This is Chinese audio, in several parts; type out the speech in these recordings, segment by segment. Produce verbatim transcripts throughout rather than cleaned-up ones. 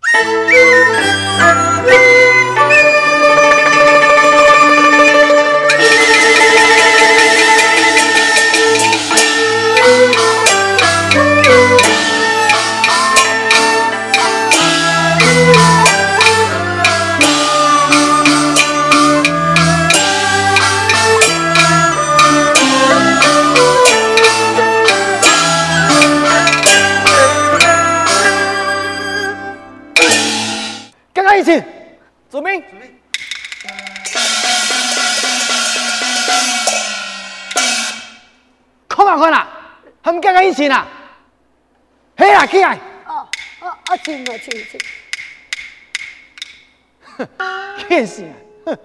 准备。看啊看啊，他們剛剛一起呢。嘿啦，起來。 哦哦哦，請了請請。 哼，騙死啊！哼。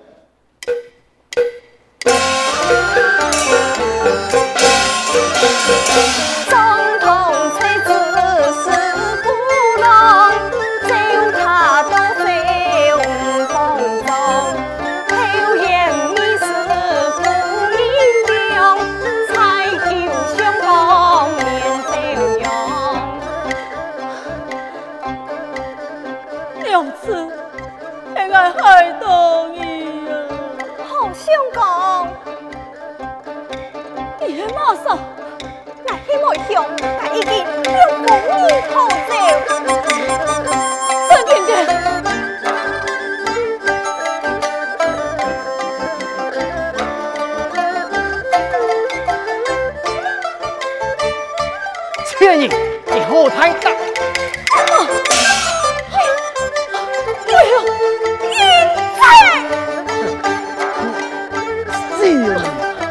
總統妻子是不能，就他都非無風中，後言你是父英雄，才求相公面笑容。 娘子，現在害到你啊！ 好相公， 你喺馬上。 希望向他已經用功你好走， 陳姐姐， 倩影，你後台大。 啊！哎呦，英仔！ 是啊。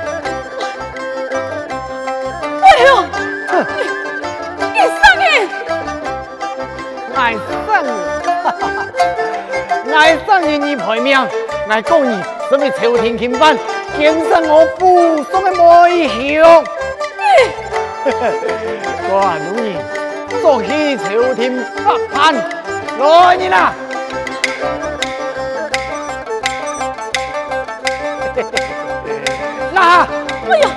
哎呦！你上癮！ 愛上癮，哈哈！愛上癮你賠命，愛講你什麼朝廷欽犯，檢上我父送的梅香。我女兒做起朝廷不叛，來你啦！那， 哎呀！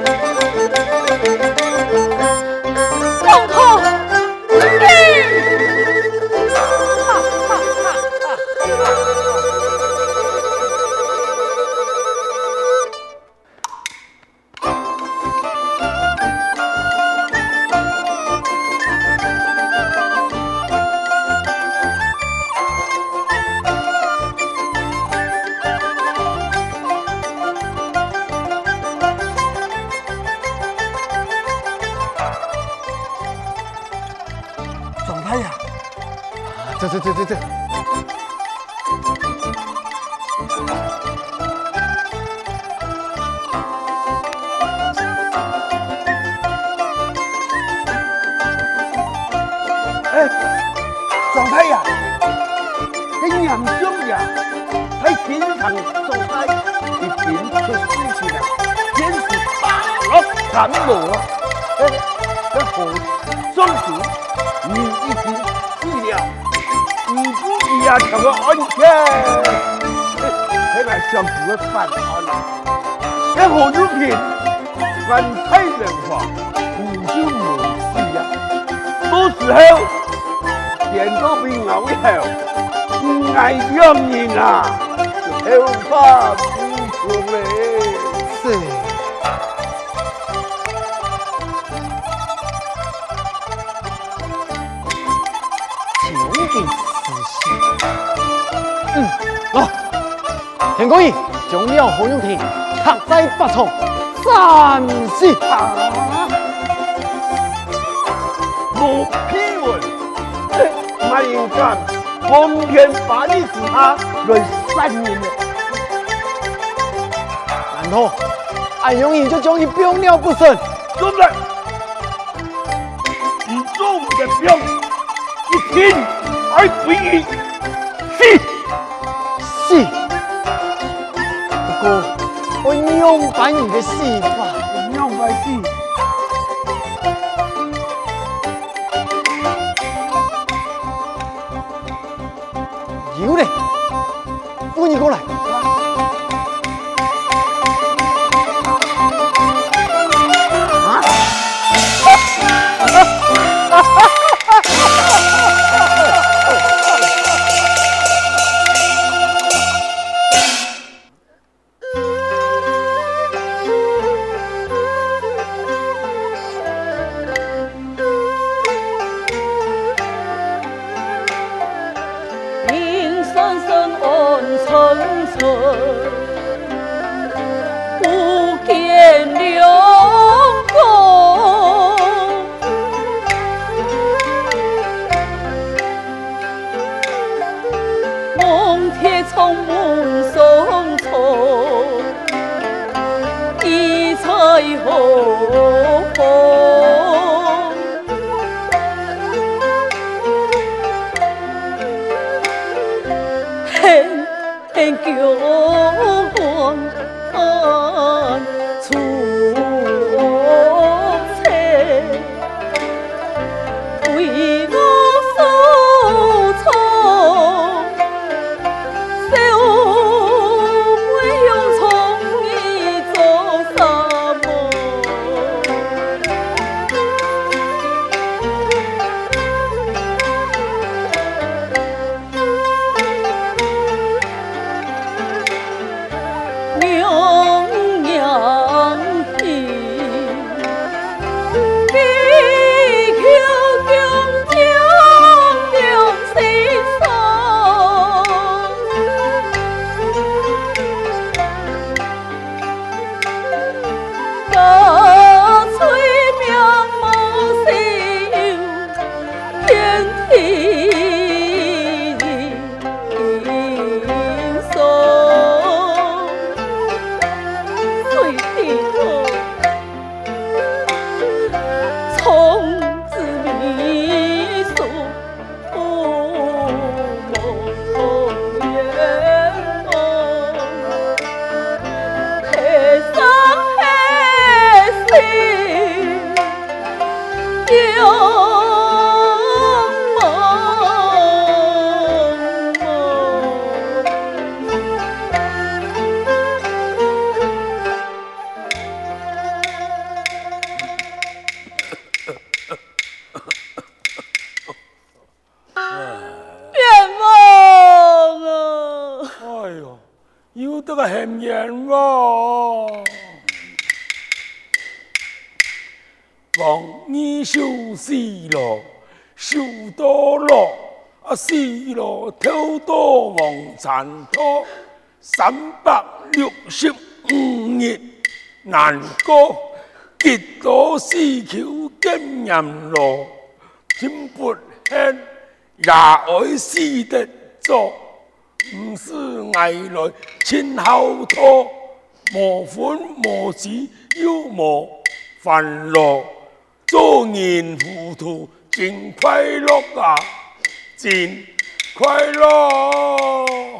王後，你！ 这这这这这！ 哎，狀太呀，你嚴重呀！喺邊場狀態已經出事情啦，簡直大落感冒啊！哎，這好雙子，你已經治了。唔知伊啊，求個安全，睇嚟上主嘅犯案啦！一何如平，犯太人話，唔就無事啊！到時候見到邊牛後，唔係讓人啊，就後怕無窮嘞。 是。究竟。嗯，好，田公義將了何永田刻在八重三死啊！ 無批文，那應該奉天把你之下來三年了。 然後安永義就將伊병了不勝。 對不對？你做我的병，一聽而不語，是。 是，不過我樣板你的戲法， 樣板戲， 有嘞，扶你過來。啊！ 沉沉，不見良公。夢鐵從門送出，一彩何風？恨恨舊官出車，為我所錯。 很冤枉，王二受死了，受到了，啊死了，偷到王殘多，三百六十五日難過，極多死求經驗羅，真不恨也愛死得做。唔是挨來親後拖，無歡無喜又無煩惱，做人糊塗真快樂啊，真快樂！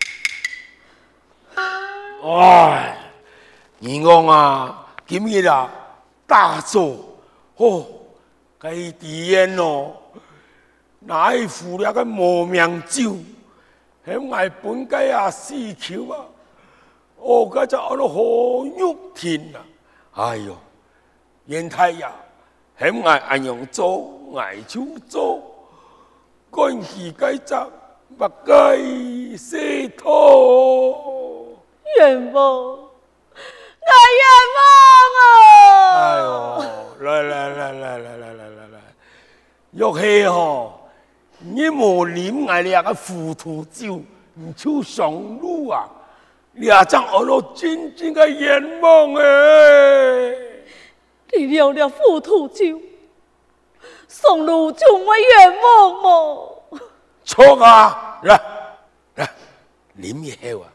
唉，二公啊，今日啊大做哦，該地煙哦，哪會付了個無名酒？喺外本街啊，死球啊！我家就喺度好肉甜啊！哎呦，袁太爺喺外按樣做，外手做，趕期改則不該洗拖。 冤枉，我冤枉啊！ 哎呦，來來來來來來來來來，玉氣吼！你無啉我哋個糊塗酒，唔出上路啊！你阿張我都真正嘅冤枉誒！ 你了了糊塗酒，上路就會冤枉麼？ 錯啊！來來，啉一口啊！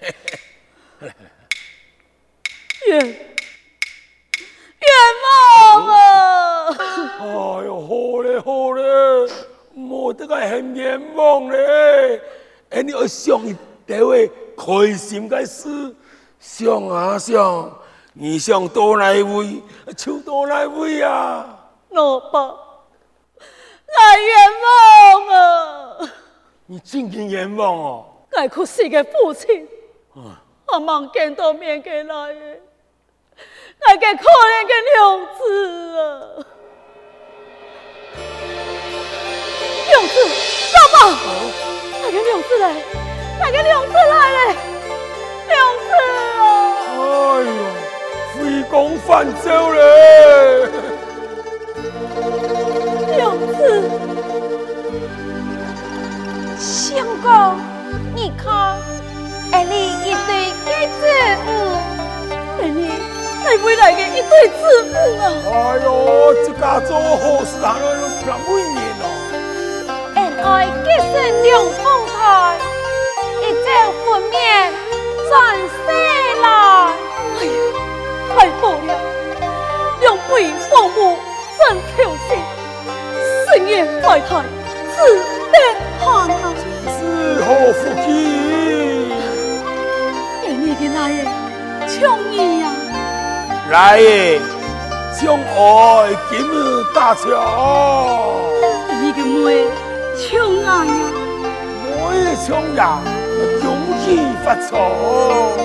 冤冤枉啊！ 哎呦，好咧好咧！冇得個很冤枉咧，誒你要想一啲位開心嘅事，想啊想，你想到哪位就到哪位啊！ 老爸，我冤枉啊！ 你真係冤枉哦！ 我可是個父親，我望見到面嘅來嘅，我嘅可憐嘅娘子啊！娘子，老爸，那個娘子來，那個娘子來了，娘子啊！ 哎呦，回宮犯走了， 娘子， 相公， 你看，哎，你一對戒指，嗯， 哎你，你未來嘅一對子女啊！ 哎呦，這家做好事行了都咁每年哦。 恩愛結成兩方台，一朝分娩轉世來。 哎呀，太好了！兩位父母真孝心，生業懷胎，自得閒啊！ 是好福氣。 哎你嘅來嘅，搶伊呀！ 來耶，將愛今日大橋。 你嘅妹搶愛呀！ 妹搶呀，恭喜發財。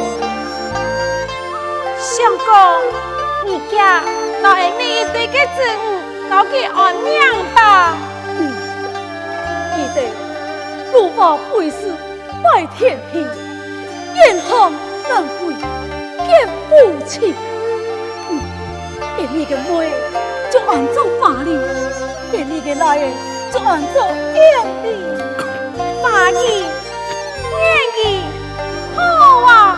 相公，你家老下你一對嘅子女，留給安娘吧。 嗯，記得如法會師拜天平，嚴行難為結夫妻。嗯，而你嘅妹就按照法理，而你嘅來就按照義理。 法義、義義，好啊！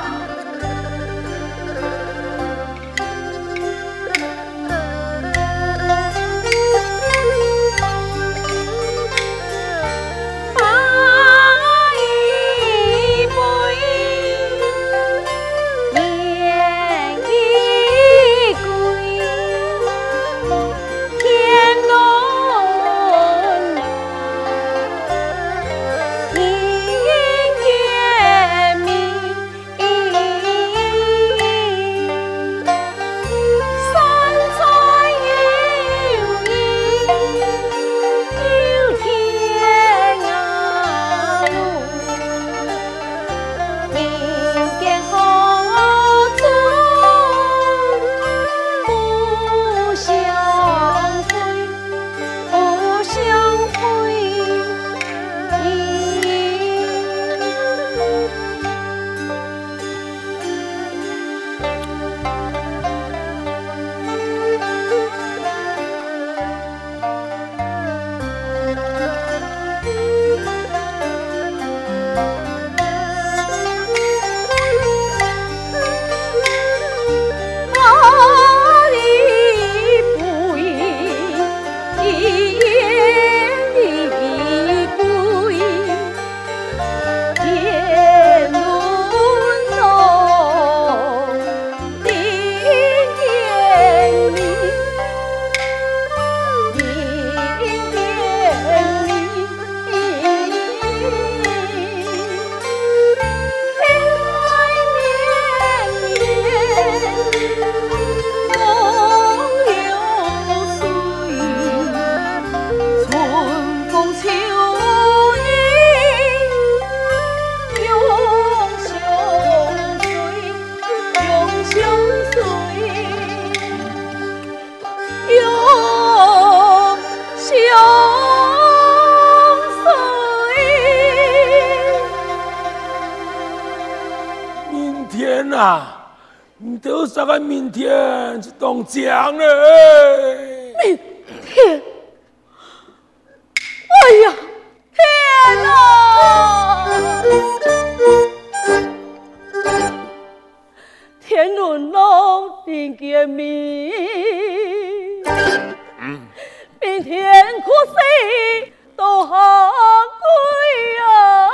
啊，你都啥個明天就當講了。 明天，哎呀，天哪！天倫龍定見面，嗯，明天可惜都下歸啊！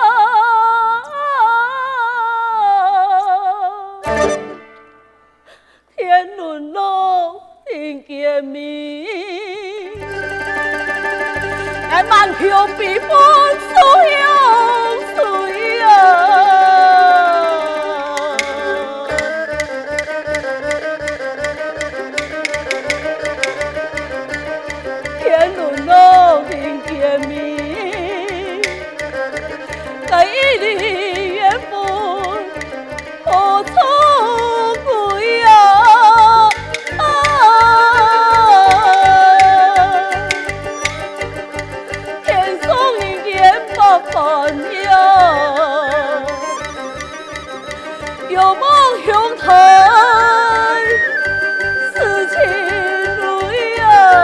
天倫龍定見面，愛滿橋碧波蘇陽水啊！天倫龍定見面，在一里緣分何處歸啊？天上一點八般呀，有夢相隨是情侶啊！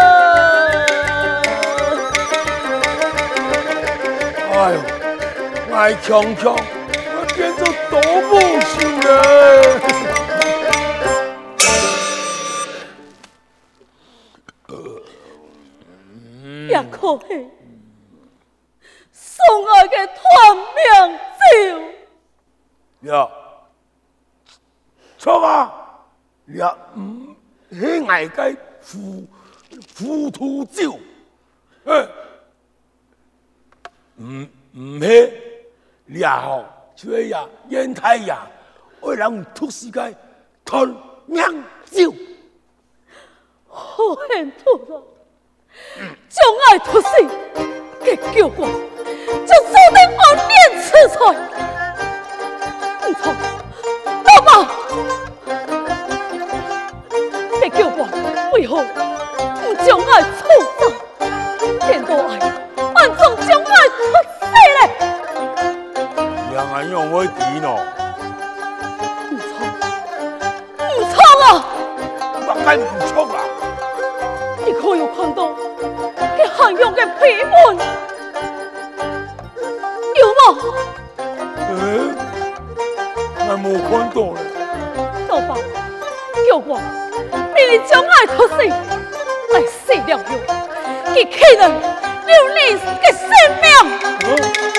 哎呦， 我強強，我變做多無秀了。 也可是送我的團名酒。 呀，錯啊！也唔係外界糊糊塗酒，誒，唔唔係，也好，就係呀，煙太呀，為人吐世界團名酒， 好險吐了，將愛吐死，給叫我，就注定我念此菜。唔錯，老爸。別叫我為何不將愛處斬？見到愛，暗中將愛出死嘞！ 兩個人會點喏？ 唔錯，唔錯啊！ 乜解唔錯啊？ 你可有看到佢韓用嘅批文？有嗎？ 誒，我冇看到咧。 老爸，叫我。你將愛吐死，來死了後，佢可能留你嘅性命。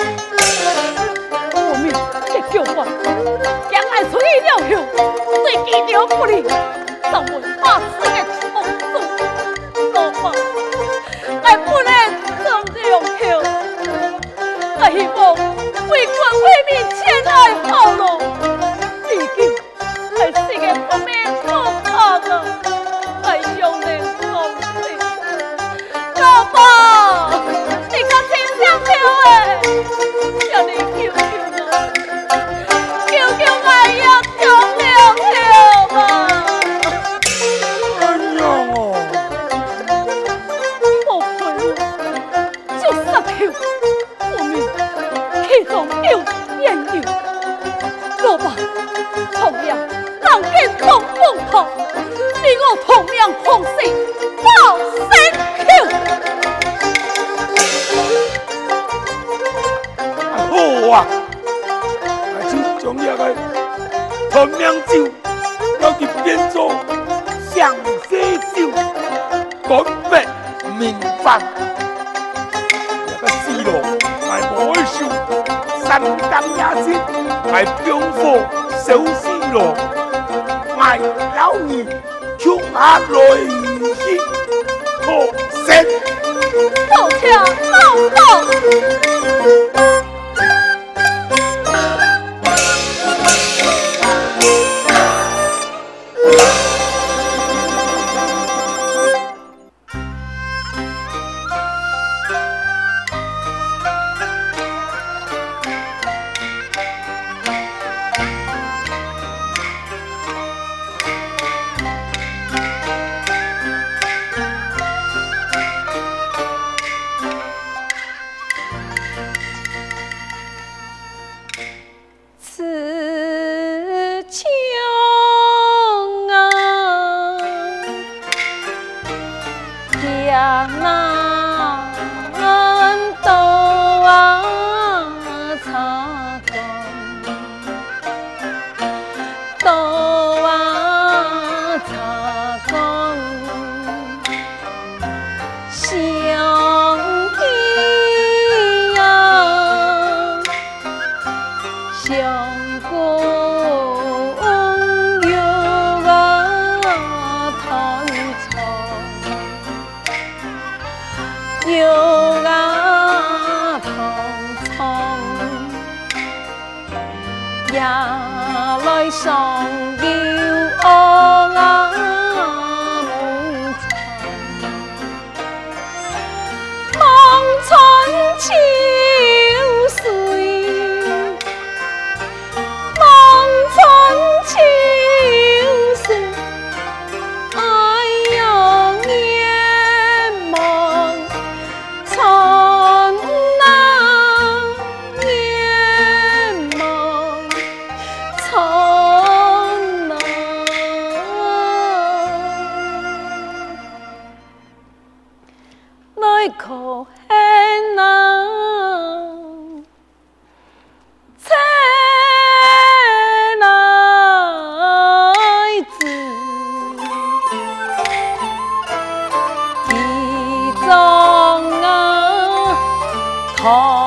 我命嘅叫我，將愛出去了後，對佢了不利，成為百世嘅痛苦。老爸，我不能這樣後，我希望為國為民前來後路，畢竟係世嘅不免可怕的。爸，你可真想跳哎！叫你救救我，救救我也跳了跳吧！ 哎呀哦！ 我陪我就殺跳，我命其中有緣由。老爸，同樣人間同風頭，你我同樣狂死報身跳。 好啊！我就將這個團名酒，要去變做上西酒，乾杯明飯。這個死路我無會受，三更夜間我병火燒死路，我老二衝下來去破身。 抱歉，老爸。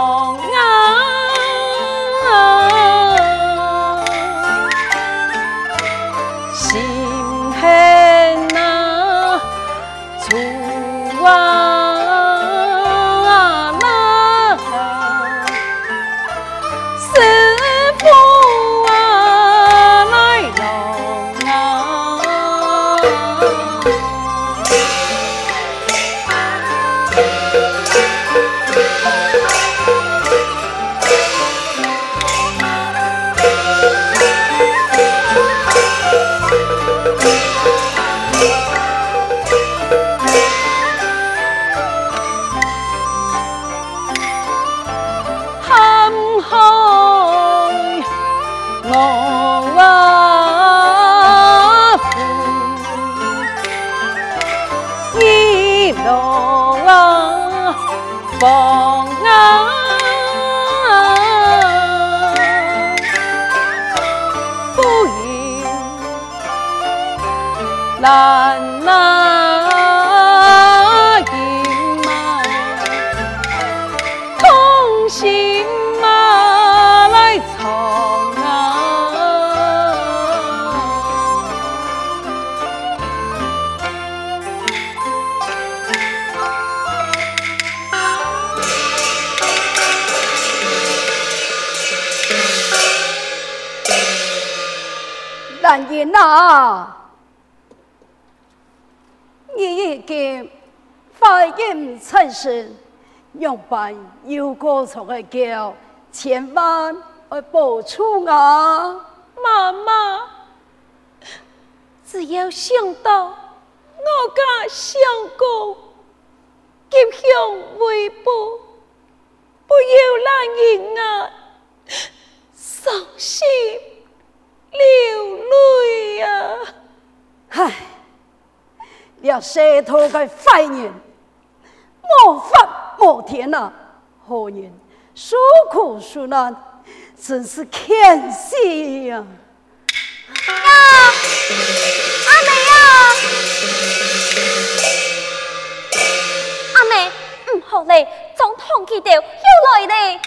难那银马，同心马來衝啊！蘭英啊！你已經發音成聲，用辦有個從的叫，千萬要保重啊！媽媽，只要想到我家相公吉祥為報，不要讓人啊傷心流淚啊！唉。了舌頭嘅壞人，無法無天啊！好人受苦受難，真是可惜呀！ 呀，阿妹呀，阿妹，唔好嘞，總統佢哋又來嘞！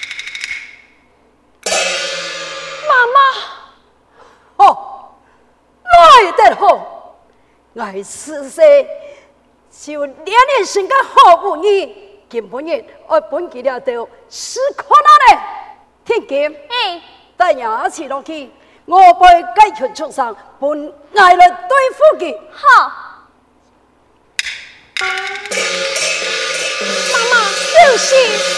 媽媽，哦，來得好。我此世就連連生個好不義，今半日我本記了到是可能的。聽見？ 哎， 帶伢起落去，我被解決出上，本愛來對付佢。 好， 媽媽小心。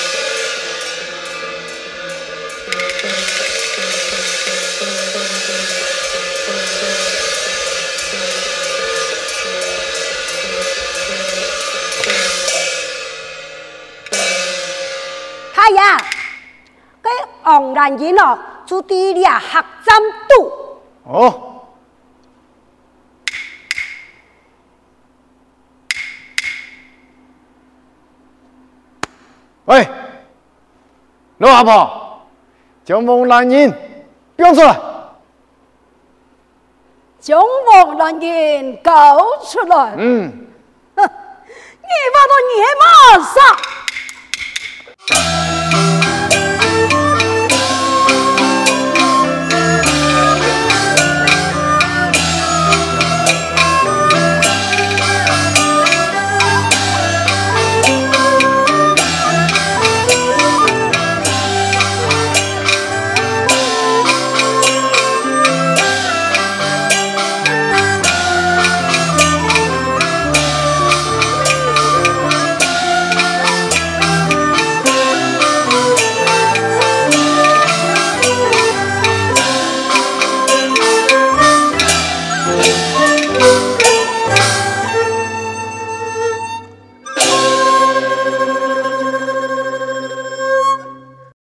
哎呀，cái ông đàn gì nó chú đi là học giam tù. Ồ. Ê, lô hà bò, chống vòng đàn nhìn, biểu xuất lại. Chống vòng đàn nhìn, cấu xuất lại. Ừ. Nghĩ vào tôi nghĩ mà sao?